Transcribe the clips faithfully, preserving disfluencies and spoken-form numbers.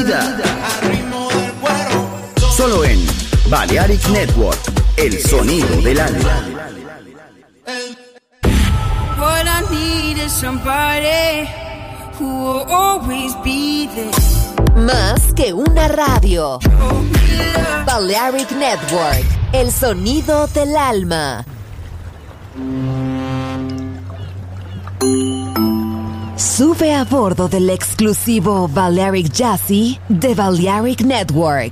vida. Solo en Balearic Network, el sonido del alma. What I need is somebody who will always be there. Más que una radio. Balearic Network, el sonido del alma. Sube a bordo del exclusivo Balearic Jazzy de Balearic Network.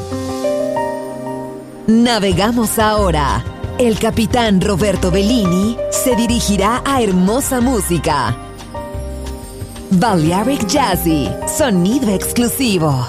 Navegamos ahora. El capitán Roberto Bellini se dirigirá a hermosa música. Balearic Jazzy, sonido exclusivo.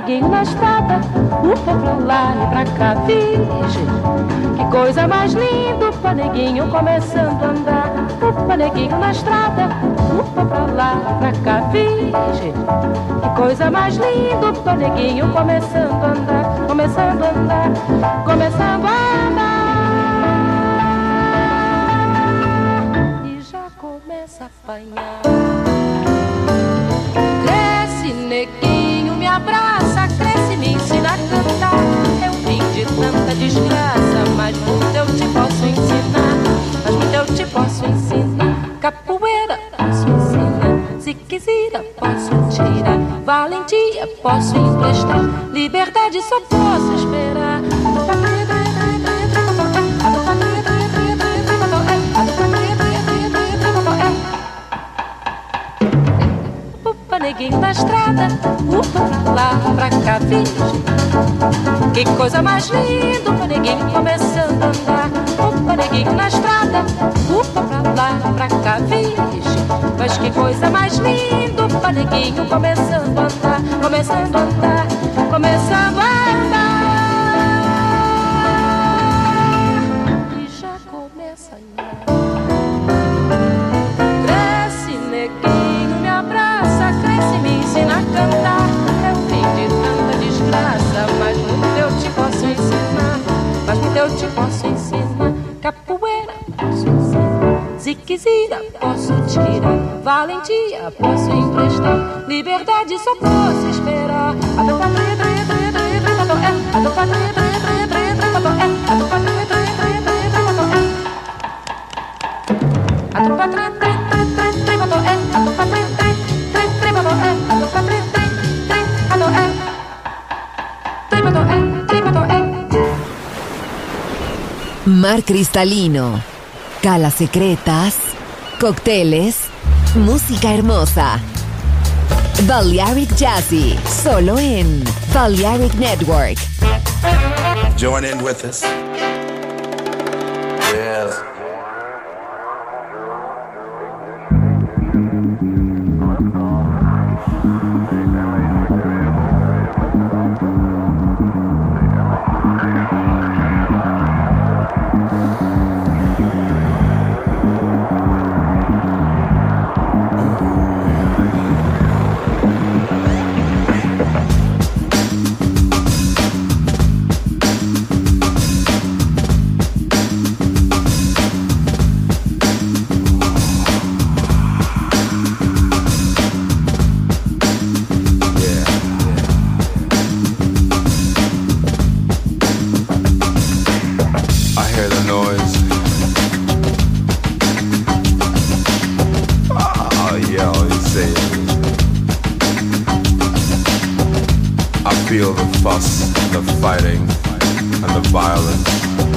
neguinho na estrada, upa pra lá e pra cá, virgem. Que coisa mais linda, upa neguinho começando a andar. Upa neguinho na estrada, upa pra lá e pra cá, virgem. Que coisa mais linda, upa neguinho começando a andar. Começando a andar, começando a andar. E já começa a apanhar. Cresce neguinho, me abraça, cresce, me ensina a cantar. Eu vim de tanta desgraça, mas muito eu te posso ensinar. Mas muito eu te posso ensinar. Capoeira posso ensinar, se quiser posso tirar. Valentia posso emprestar, liberdade só posso esperar. Upa neguinho na estrada, upa pra lá, pra cá, virgem. Que coisa mais linda, upa neguinho começando a andar. Upa neguinho na estrada, upa pra lá, pra cá, virgem. Mas que coisa mais linda, upa neguinho começando a andar. Começando a andar, começando a andar. E já começa a andar. Cresce neguinho, me abraça, cresce, me ensina a cantar. Eu vim de tanta desgraça, mas muito eu te posso ensinar. Mas muito eu te posso ensinar. Capoeira posso ensinar, se quiser posso tirar. Valentia posso emprestar, liberdade só posso esperar. Mar cristalino, calas secretas, cócteles, música hermosa. Balearic Jazzy, solo en Balearic Network. Join in with us. Yes. Feel the fuss, the fighting, and the violence.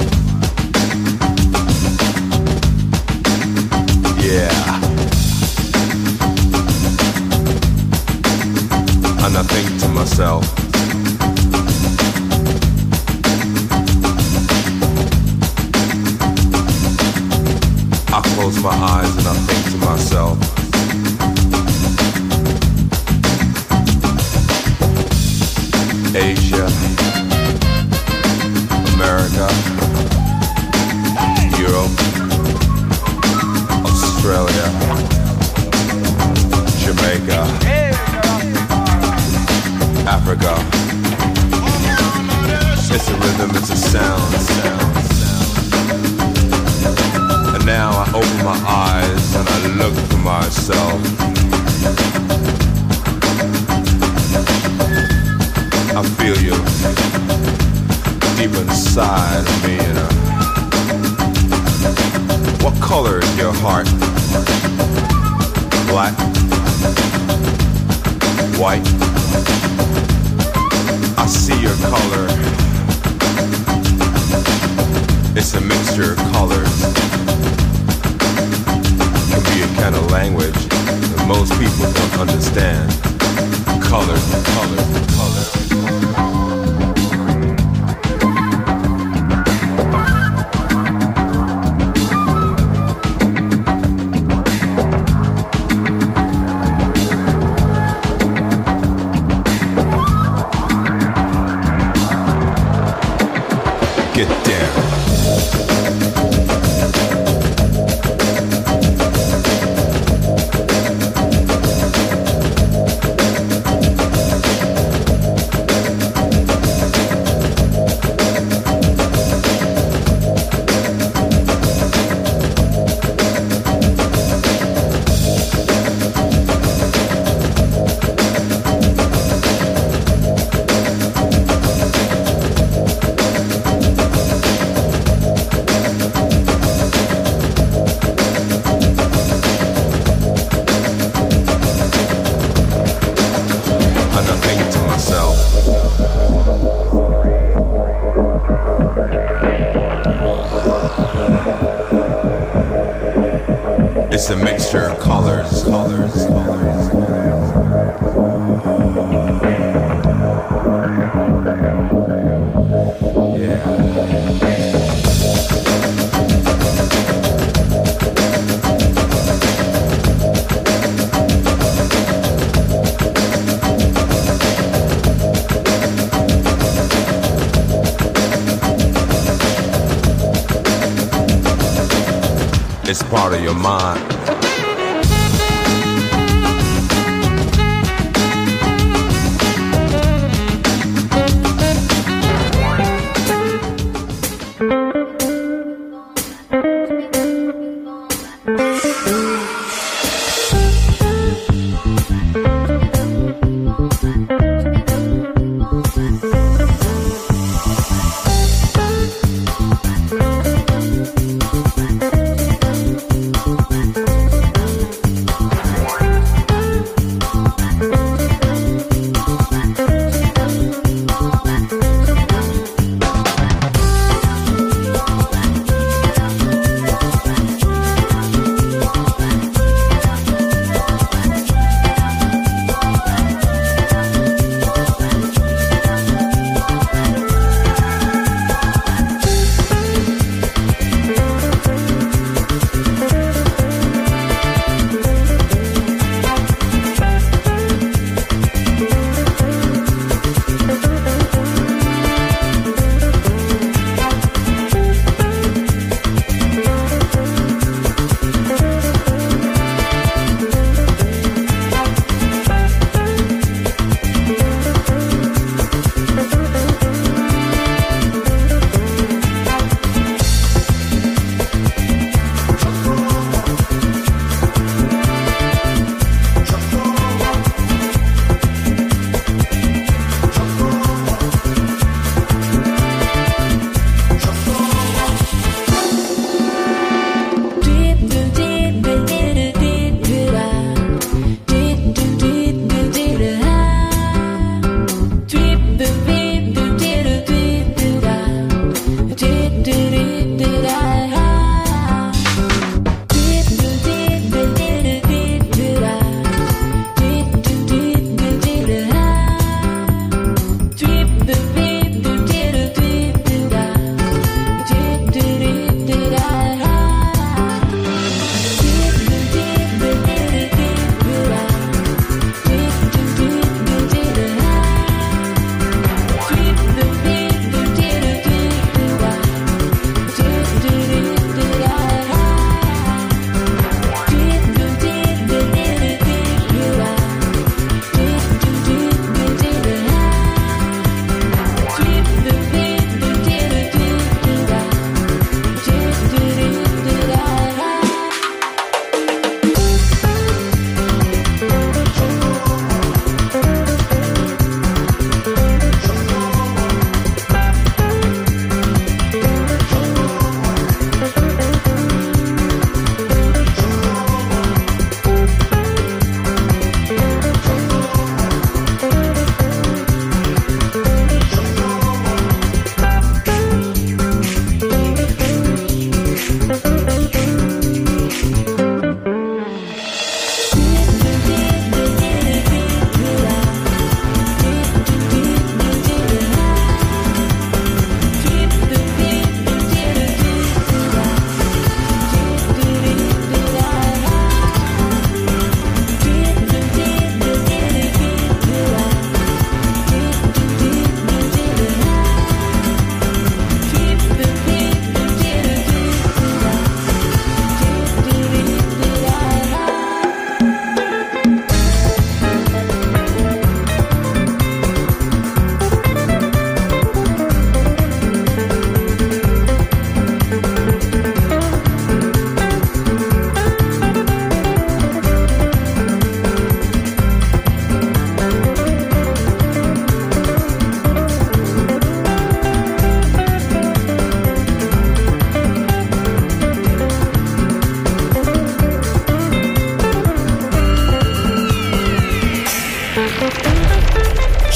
Yeah. And I think to myself, I close my eyes and I think to myself, Asia, America, Europe, Australia, Jamaica, Africa. It's a rhythm, it's a sound, sound, sound. And now I open my eyes and I look for myself. I feel you deep inside of me, you know. What color is your heart? Black? White? I see your color. It's a mixture of colors. It can be a kind of language that most people don't understand. Colors, colors, colors. It's a mixture of colors, colors, colors. Yeah. It's part of your mind.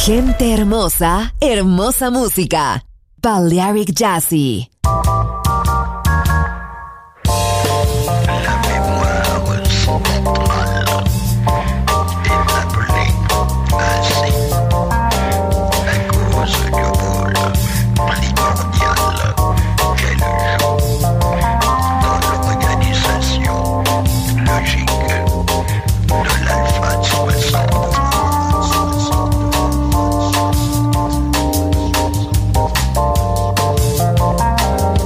Gente hermosa, hermosa música. Balearic Jazzy. Thank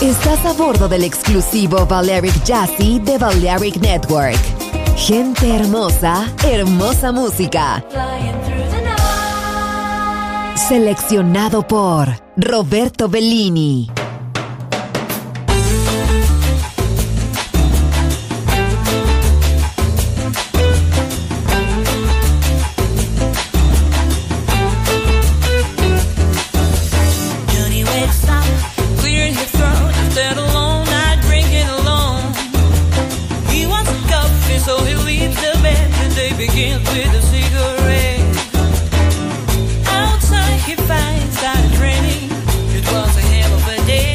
Estás a bordo del exclusivo Balearic Jazzy de Balearic Network. Gente hermosa, hermosa música. Seleccionado por Roberto Bellini. Outside he finds out training. It was a hell of a day.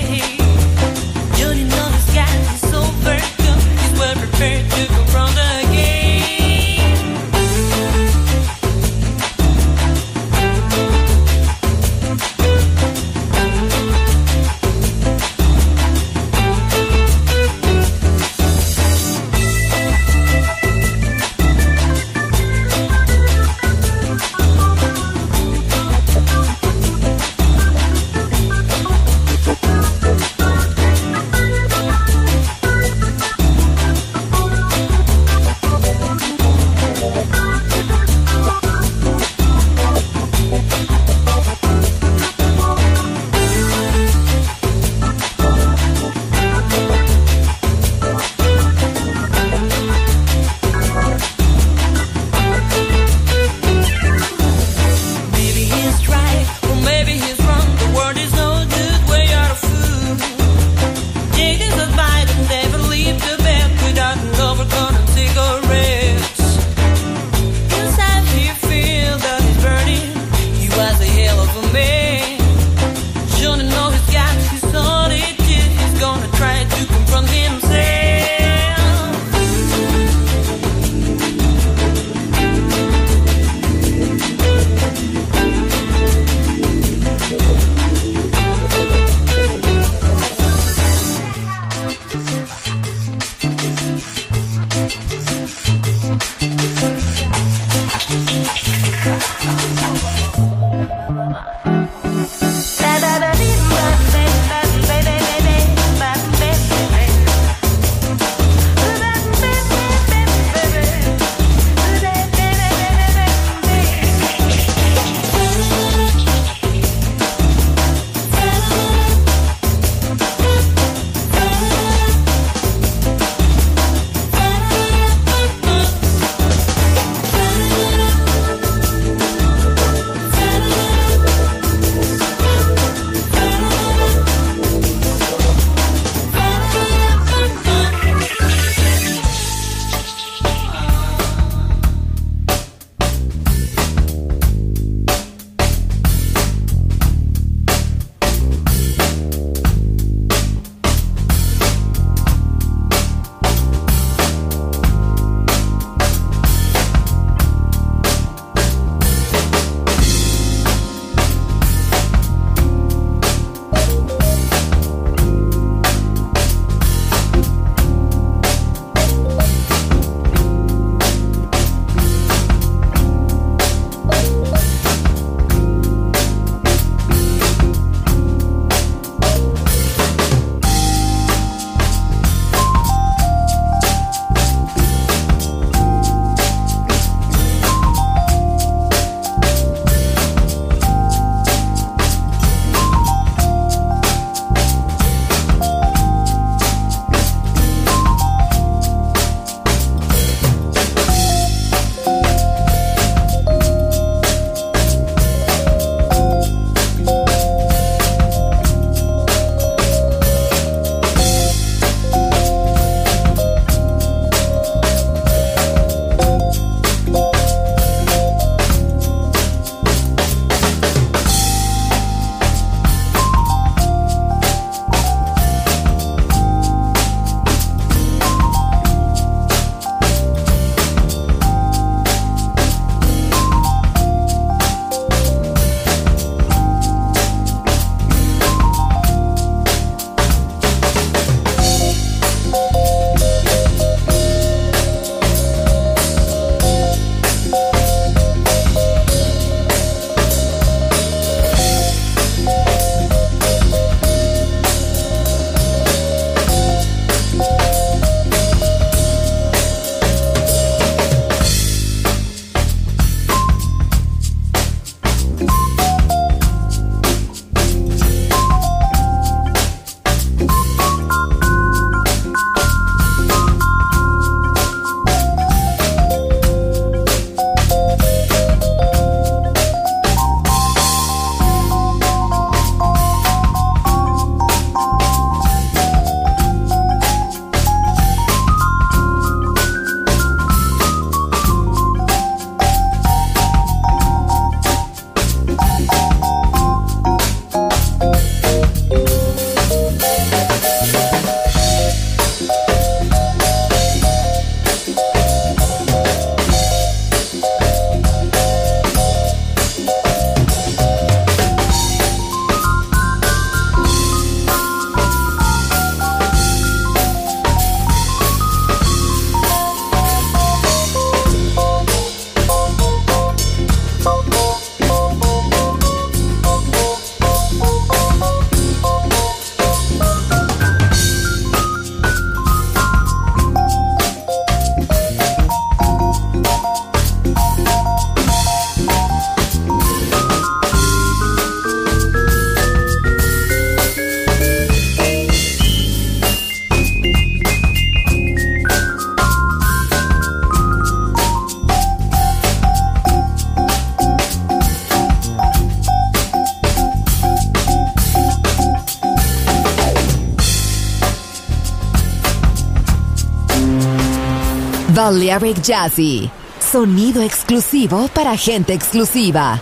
Balearic Jazzy, sonido exclusivo para gente exclusiva.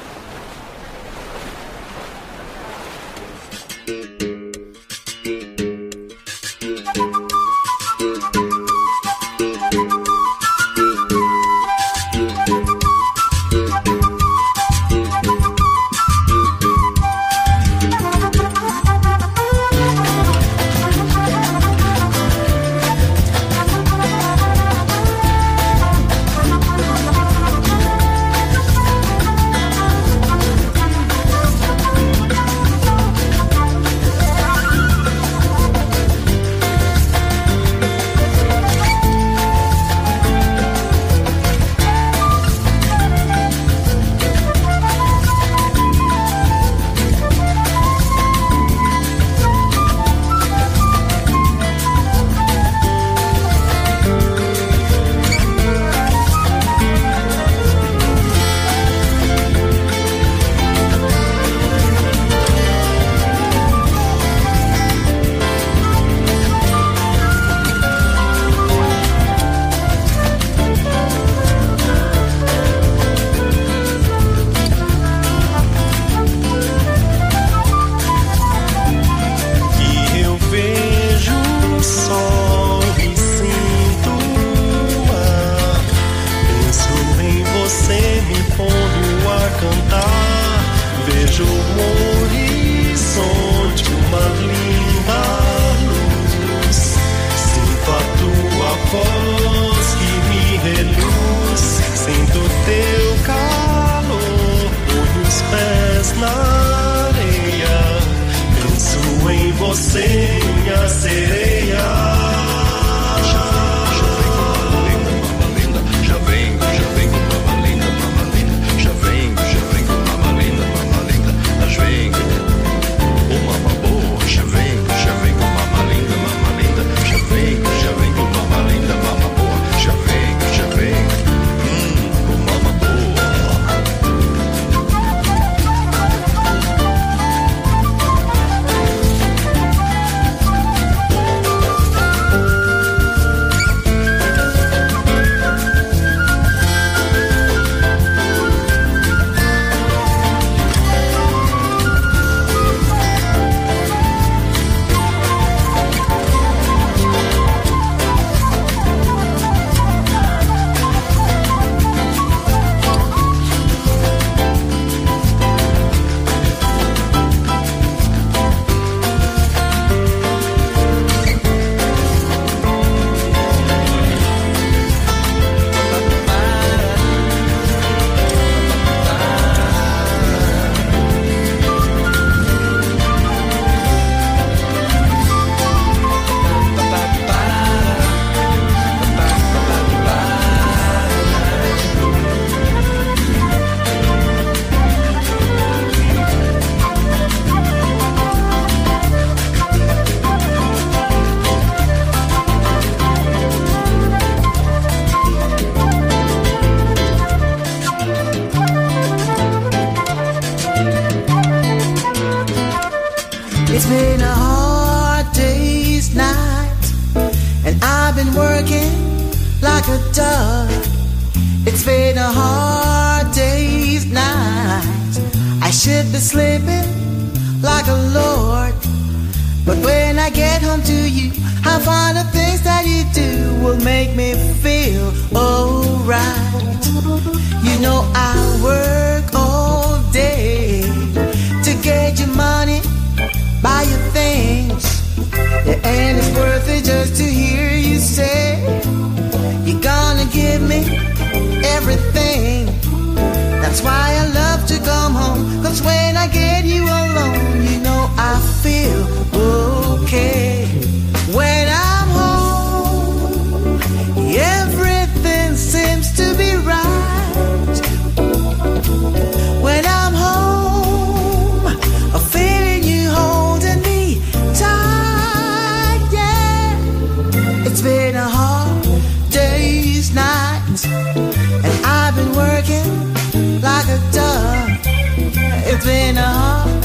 It's been a hard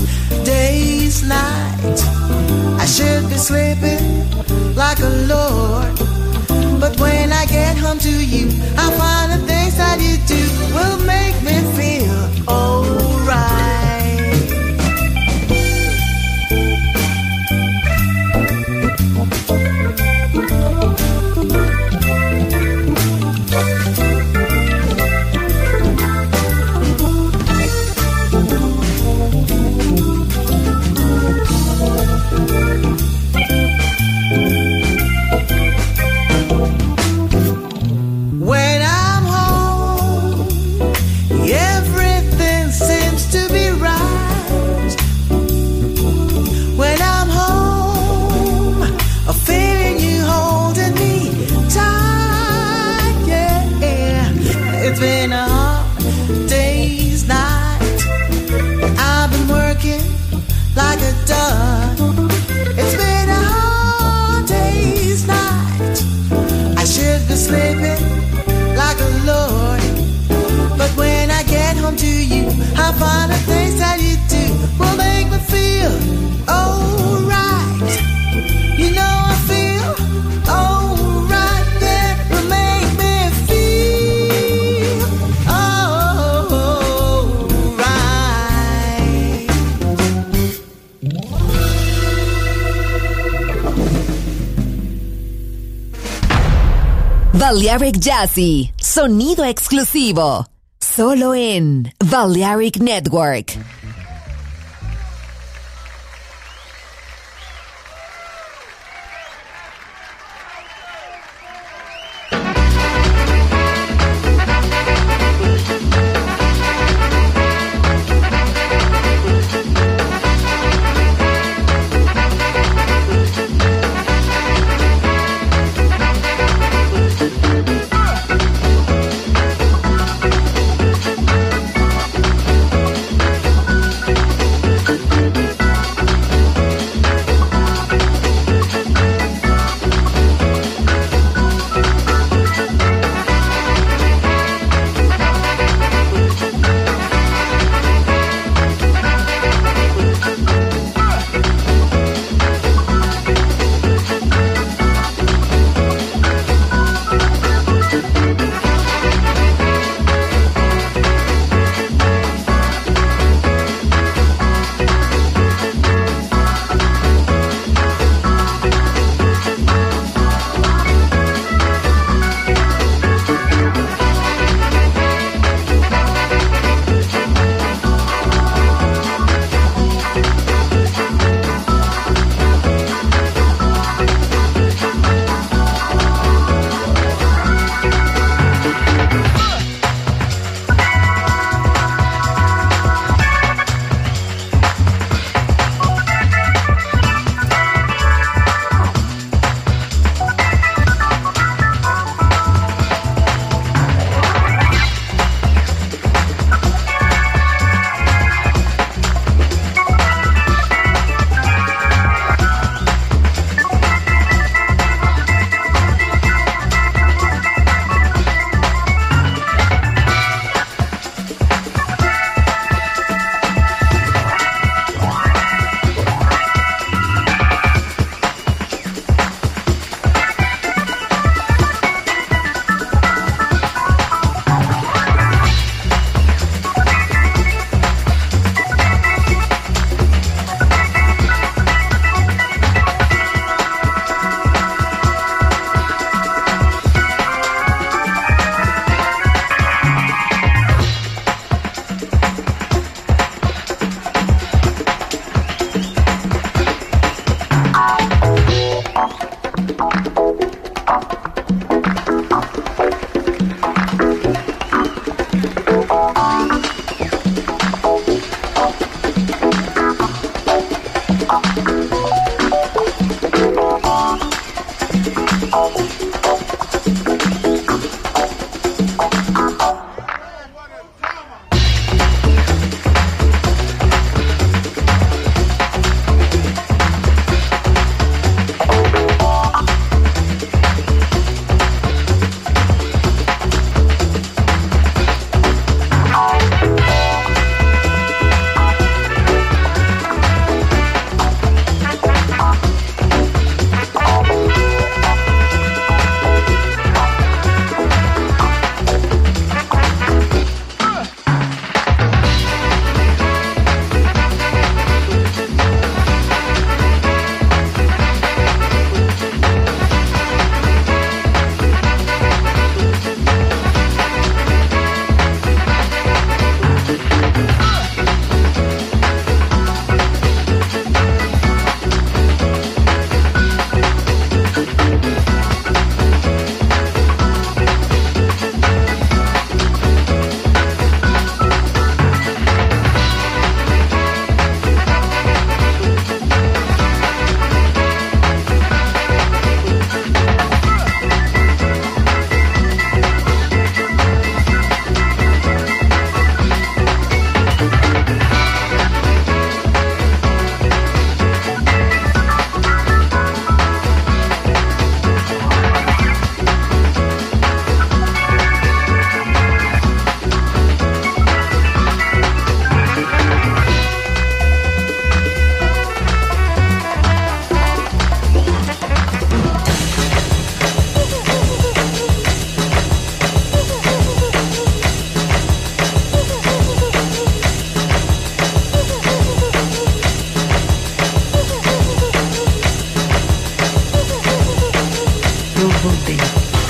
day's night. I should be sleeping like a lord, But when I get home to you, I find the things that you do will make me feel alright. When I'm home, everything seems to be right. When I'm home, I'm feeling you holding me tight, yeah. It's been a hard day's night. I've been working like a dog. It's been a hard day's night. I should be sleeping like a lord. But when I get home to you, I find the things that you do will make me feel alright. You know I feel alright, yeah, will make me feel alright. Balearic Jazzy, sonido exclusivo, solo en Balearic Network. When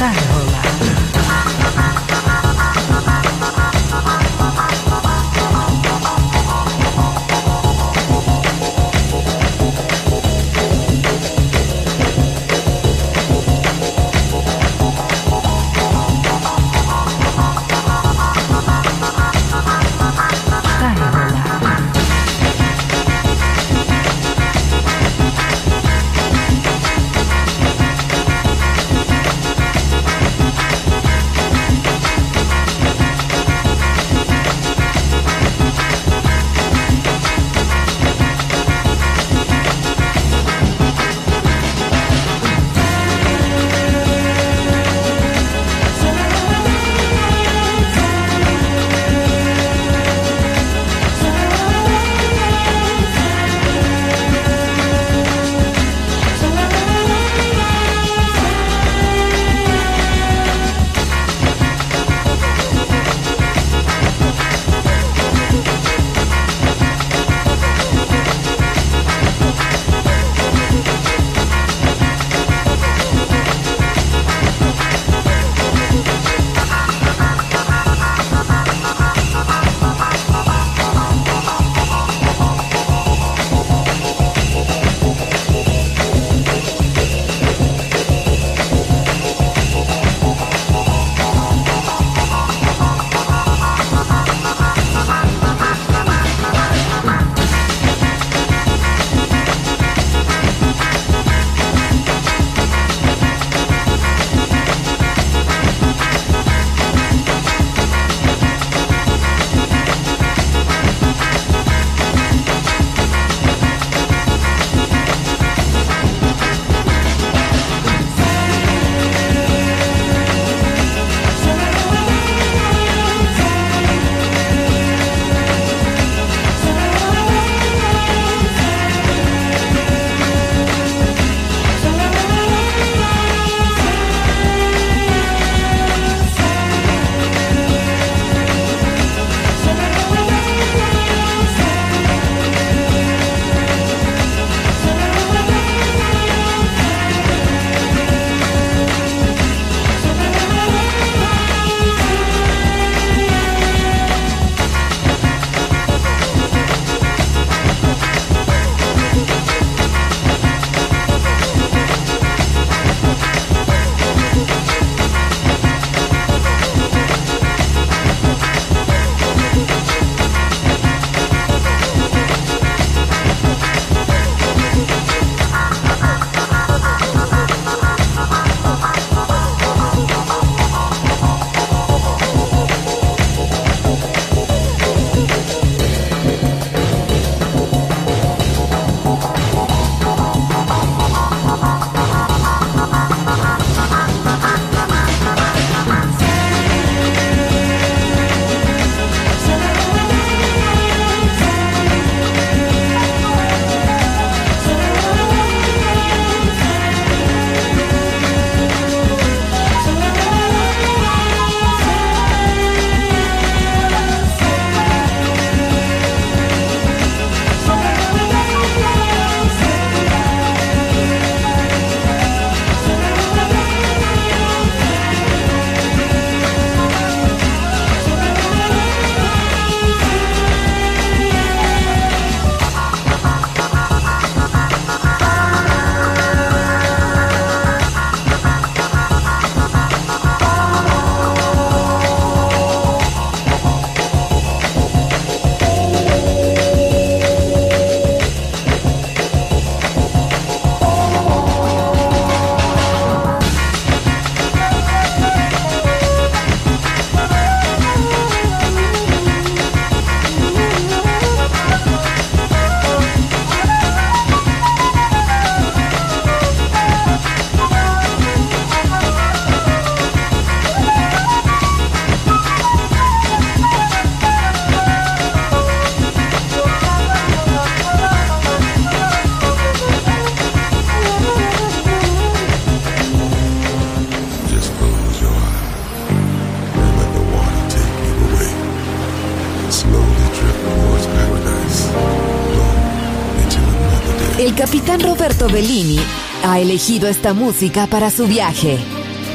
El capitán Roberto Bellini ha elegido esta música para su viaje.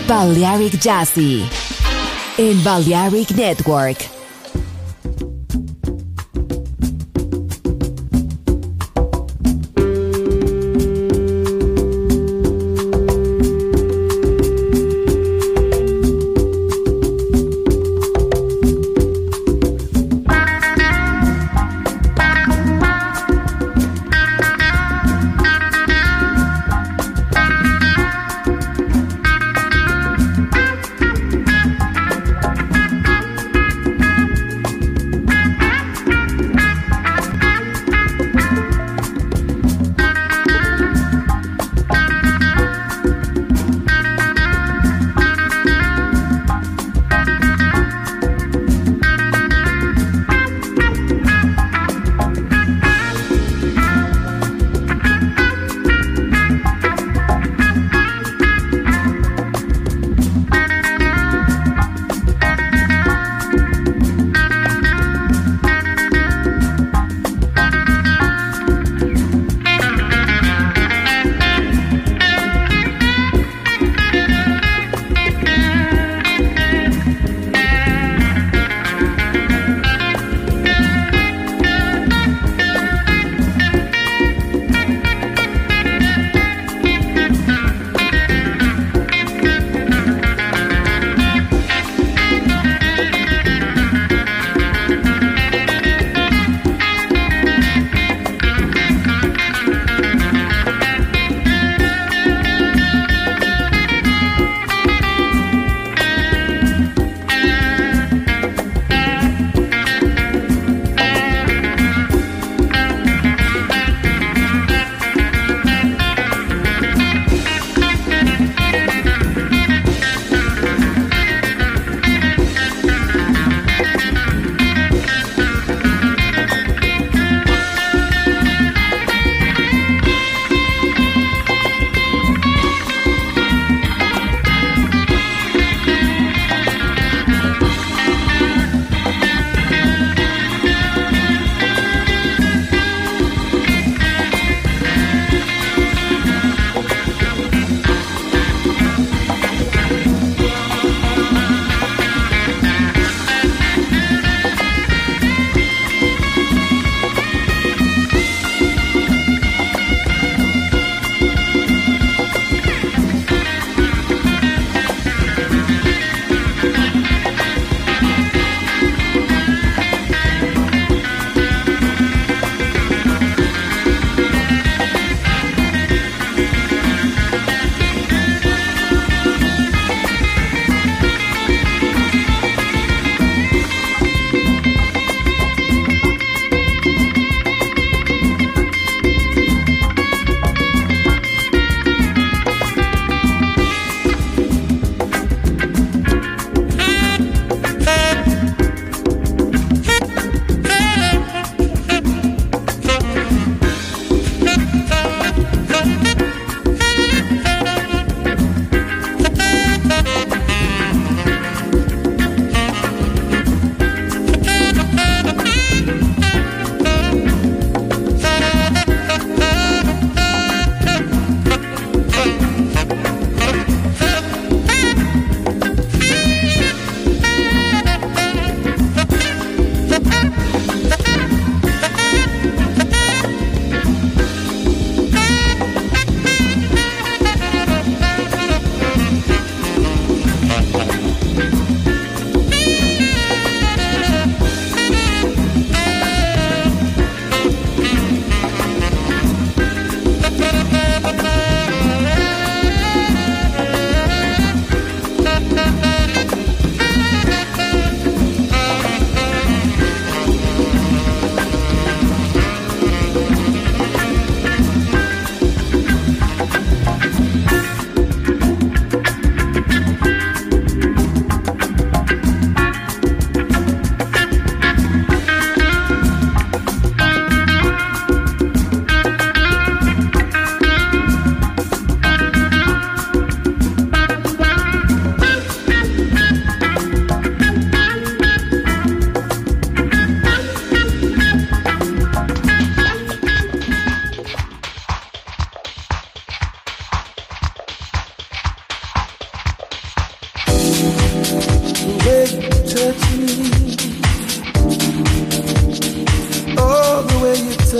Balearic Jazzy en Balearic Network.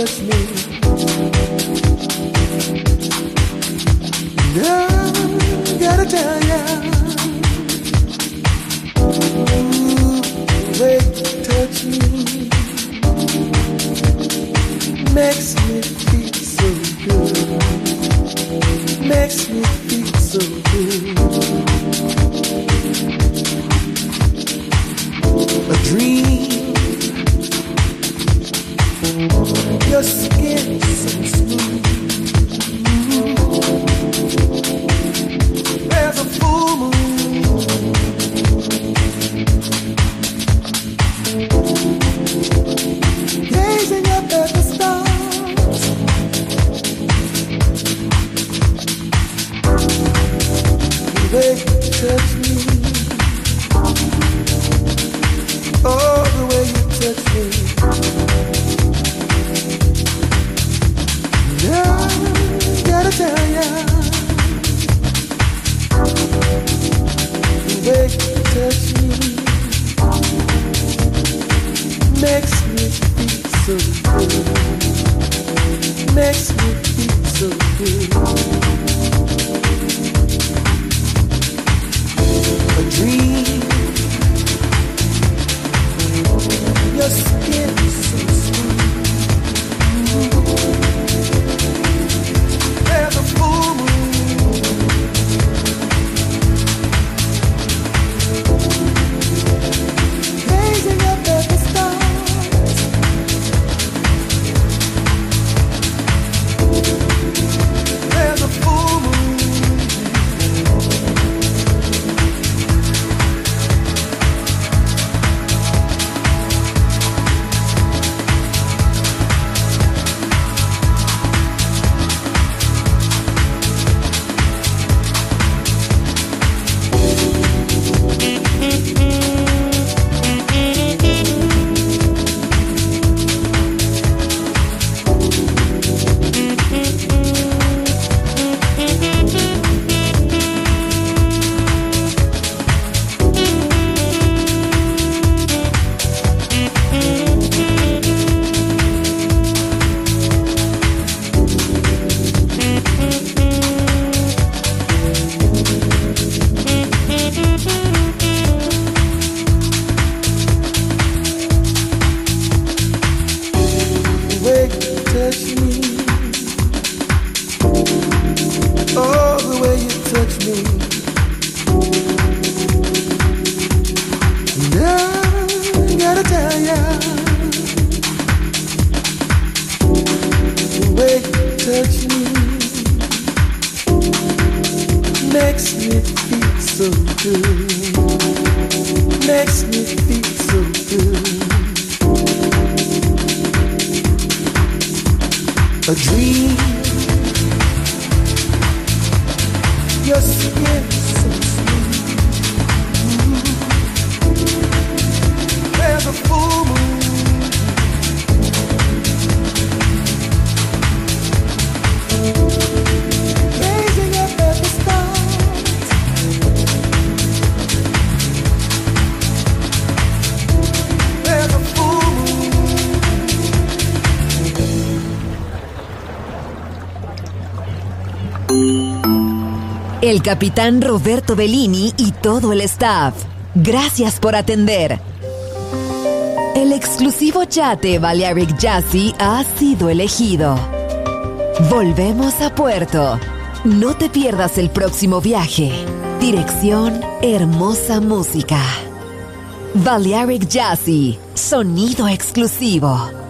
touch me. Now, gotta tell ya, ooh, the way you touch me makes me feel so good. Makes me feel so good. A dream. Your skin is so smooth. There's a full moon. Gazing up at the stars. The way you touch me. Oh, the way you touch me. Now, gotta tell ya, the way you touch me makes me feel so good. Makes me feel so good. A dream. Your skin is so smooth. There's a full moon. Gazing up at the stars. There's a full moon. A dream. Your skin so smooth. There's a full moon. Gazing up at the stars. There's a full moon. El capitán Roberto Bellini y todo el staff, gracias por atender. El exclusivo yate Balearic Jazzy ha sido elegido. Volvemos a puerto. No te pierdas el próximo viaje. Dirección Hermosa Música. Balearic Jazzy, sonido exclusivo.